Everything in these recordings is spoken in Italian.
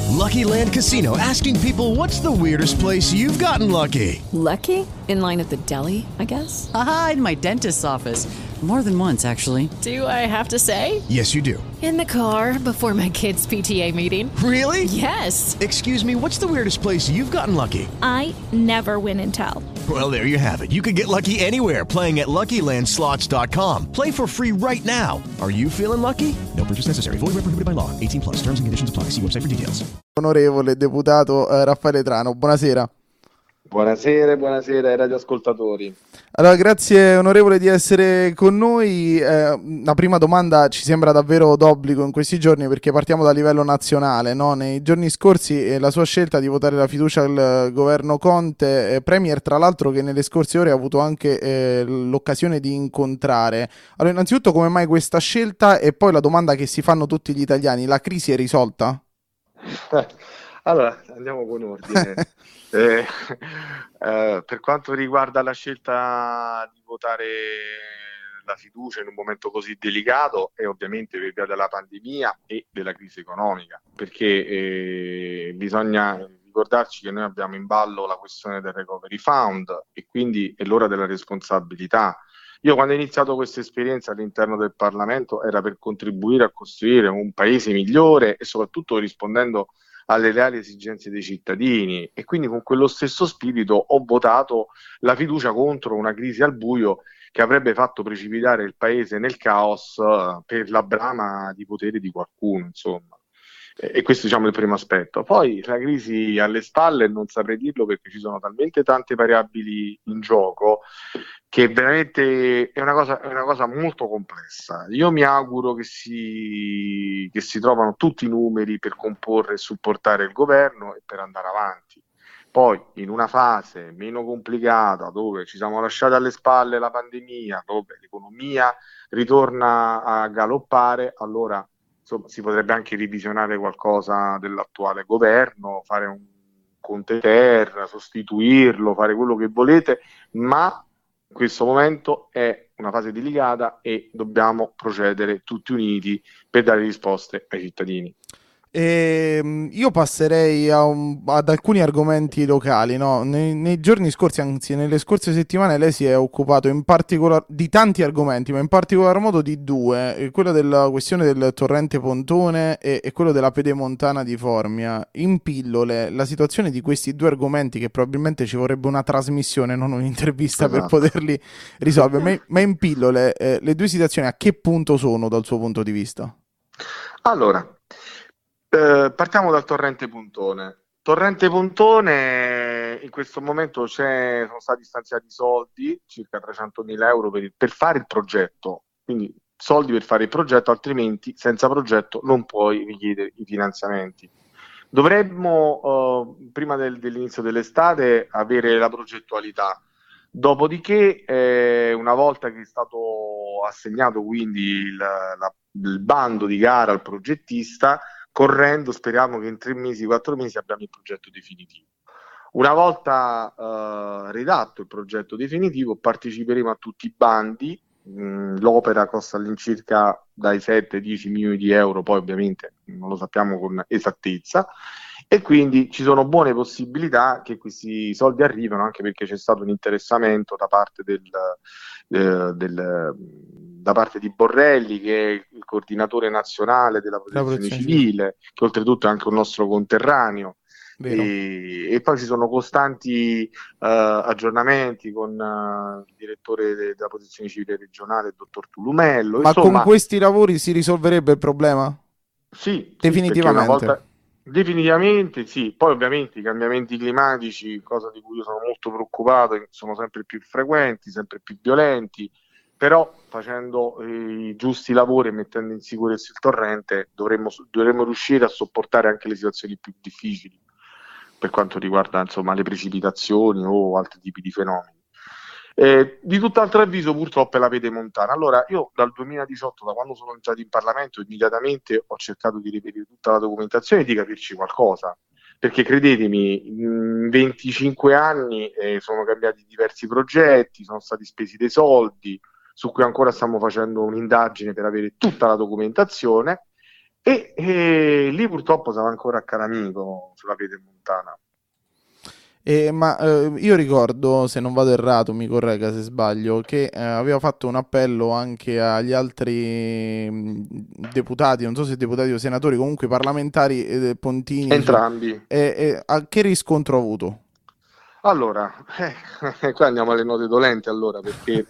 Lucky Land Casino, asking people, what's the weirdest place you've gotten lucky? Lucky? In line at the deli, I guess? Aha, in my dentist's office. More than once, actually. Do I have to say? Yes, you do. In the car before my kids' PTA meeting. Really? Yes. Excuse me, what's the weirdest place you've gotten lucky? I never win and tell. Well, there you have it. You can get lucky anywhere, playing at LuckyLandSlots.com. Play for free right now. Are you feeling lucky? No purchase necessary. Void where prohibited by law. 18 plus. Terms and conditions apply. See website for details. Onorevole deputato Raffaele Trano, buonasera. Buonasera ai radioascoltatori. Allora, grazie onorevole di essere con noi. La prima domanda ci sembra davvero d'obbligo in questi giorni, perché partiamo dal livello nazionale, no? Nei giorni scorsi la sua scelta di votare la fiducia al governo Conte, premier tra l'altro che nelle scorse ore ha avuto anche l'occasione di incontrare. Allora, innanzitutto, come mai questa scelta? E poi la domanda che si fanno tutti gli italiani: la crisi è risolta? Allora, andiamo con ordine. Per quanto riguarda la scelta di votare la fiducia in un momento così delicato, è ovviamente per via della pandemia e della crisi economica, perché bisogna ricordarci che noi abbiamo in ballo la questione del Recovery Fund e quindi è l'ora della responsabilità. Io, quando ho iniziato questa esperienza all'interno del Parlamento, era per contribuire a costruire un paese migliore e soprattutto rispondendo alle reali esigenze dei cittadini, e quindi con quello stesso spirito ho votato la fiducia contro una crisi al buio che avrebbe fatto precipitare il paese nel caos per la brama di potere di qualcuno, insomma. E questo, diciamo, è il primo aspetto. Poi la crisi alle spalle non saprei dirlo, perché ci sono talmente tante variabili in gioco che veramente è una cosa molto complessa. Io mi auguro che si trovano tutti i numeri per comporre e supportare il governo e per andare avanti. Poi, in una fase meno complicata, dove ci siamo lasciati alle spalle la pandemia, dove l'economia ritorna a galoppare, allora insomma, si potrebbe anche revisionare qualcosa dell'attuale governo, fare un Conte Ter, sostituirlo, fare quello che volete, ma in questo momento è una fase delicata e dobbiamo procedere tutti uniti per dare risposte ai cittadini. Io passerei ad alcuni argomenti locali, no? Nei giorni scorsi, anzi nelle scorse settimane, lei si è occupato di tanti argomenti, ma in particolar modo di due: quello della questione del torrente Pontone e quello della pedemontana di Formia. In pillole, la situazione di questi due argomenti, che probabilmente ci vorrebbe una trasmissione, non un'intervista, per poterli risolvere, ma in pillole, le due situazioni a che punto sono dal suo punto di vista? Allora, partiamo dal torrente Pontone. Torrente Pontone, in questo momento sono stati stanziati soldi, circa 300.000 euro per fare il progetto, quindi soldi per fare il progetto, altrimenti senza progetto non puoi richiedere i finanziamenti. Dovremmo, prima dell'inizio dell'estate, avere la progettualità. Dopodiché, una volta che è stato assegnato quindi il bando di gara al progettista, correndo, speriamo che in 3 mesi, 4 mesi abbiamo il progetto definitivo. Una volta redatto il progetto definitivo, parteciperemo a tutti i bandi. L'opera costa all'incirca dai 7-10 milioni di euro, poi ovviamente non lo sappiamo con esattezza, e quindi ci sono buone possibilità che questi soldi arrivino, anche perché c'è stato un interessamento da parte da parte di Borrelli, che è il coordinatore nazionale della protezione civile, che oltretutto è anche un nostro conterraneo. E poi ci sono costanti aggiornamenti con il direttore della protezione civile regionale, il dottor Tulumello. Ma con questi lavori si risolverebbe il problema? Sì, definitivamente. Definitivamente sì. Poi ovviamente i cambiamenti climatici, cosa di cui io sono molto preoccupato, sono sempre più frequenti, sempre più violenti, però facendo i giusti lavori e mettendo in sicurezza il torrente dovremmo riuscire a sopportare anche le situazioni più difficili per quanto riguarda, insomma, le precipitazioni o altri tipi di fenomeni. Di tutt'altro avviso purtroppo è la pedemontana. Allora, io dal 2018, da quando sono entrato in Parlamento, immediatamente ho cercato di reperire tutta la documentazione e di capirci qualcosa, perché credetemi, in 25 anni sono cambiati diversi progetti, sono stati spesi dei soldi, su cui ancora stiamo facendo un'indagine per avere tutta la documentazione, E lì purtroppo siamo ancora a Caramico sulla Pedemontana. Io ricordo, se non vado errato, mi corregga se sbaglio, che aveva fatto un appello anche agli altri deputati, non so se deputati o senatori, comunque parlamentari pontini. Entrambi. A che riscontro ha avuto? Allora, qua andiamo alle note dolenti, allora, perché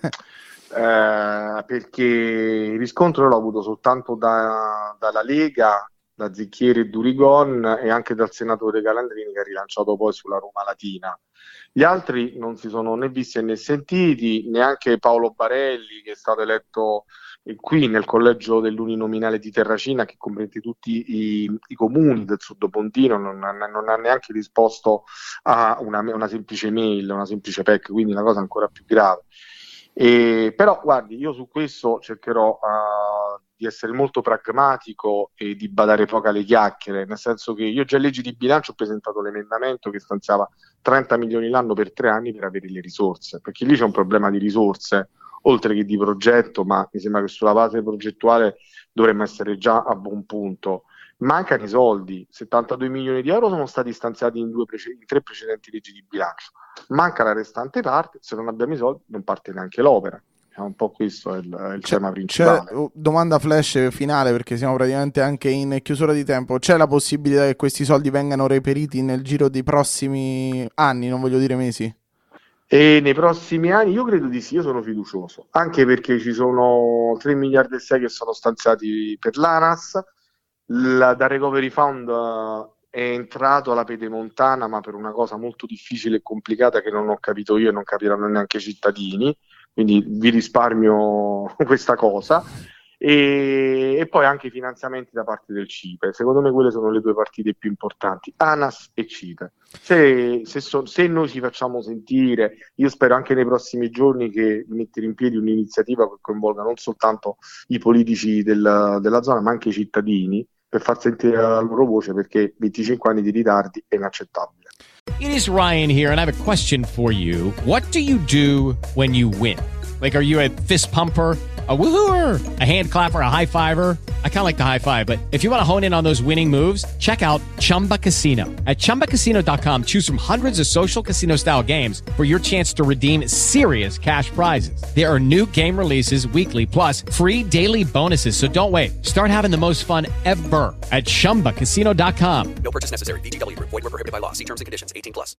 il riscontro l'ho avuto soltanto dalla Lega, da Zicchieri e Durigon, e anche dal senatore Calandrini, che ha rilanciato poi sulla Roma Latina. Gli altri non si sono né visti né sentiti, neanche Paolo Barelli, che è stato eletto qui nel collegio dell'uninominale di Terracina, che comprende tutti i comuni del Sud Pontino, non ha neanche risposto a una semplice mail, una semplice PEC, quindi una cosa ancora più grave. Però guardi, io su questo cercherò di essere molto pragmatico e di badare poco alle chiacchiere, nel senso che io già in legge di bilancio ho presentato l'emendamento che stanziava 30 milioni l'anno per 3 anni per avere le risorse, perché lì c'è un problema di risorse oltre che di progetto, ma mi sembra che sulla base progettuale dovremmo essere già a buon punto. Mancano i soldi, 72 milioni di euro sono stati stanziati in 3 precedenti leggi di bilancio, manca la restante parte, se non abbiamo i soldi non parte neanche l'opera. Un po' questo è il tema principale. Domanda flash finale, perché siamo praticamente anche in chiusura di tempo. C'è la possibilità che questi soldi vengano reperiti nel giro dei prossimi anni, non voglio dire mesi? E nei prossimi anni io credo di sì, io sono fiducioso, anche perché ci sono 3 miliardi e 6 che sono stanziati per l'ANAS, da Recovery Fund è entrato alla Pedemontana, ma per una cosa molto difficile e complicata che non ho capito io e non capiranno neanche i cittadini, quindi vi risparmio questa cosa. E poi anche i finanziamenti da parte del CIPE. Secondo me quelle sono le 2 partite più importanti, ANAS e CIPE. Se noi ci facciamo sentire, io spero anche nei prossimi giorni di mettere in piedi un'iniziativa che coinvolga non soltanto i politici della zona, ma anche i cittadini, per far sentire la loro voce, perché 25 anni di ritardi è inaccettabile. It is Ryan here, and I have a question for you. What do you do when you win? Like, are you a fist pumper, a woohooer, a hand clapper, a high fiver? I kind of like the high five, but if you want to hone in on those winning moves, check out Chumba Casino. At ChumbaCasino.com, choose from hundreds of social casino style games for your chance to redeem serious cash prizes. There are new game releases weekly, plus free daily bonuses. So don't wait. Start having the most fun ever at ChumbaCasino.com. No purchase necessary. VGW Group. Void where prohibited by law. See terms and conditions. 18+.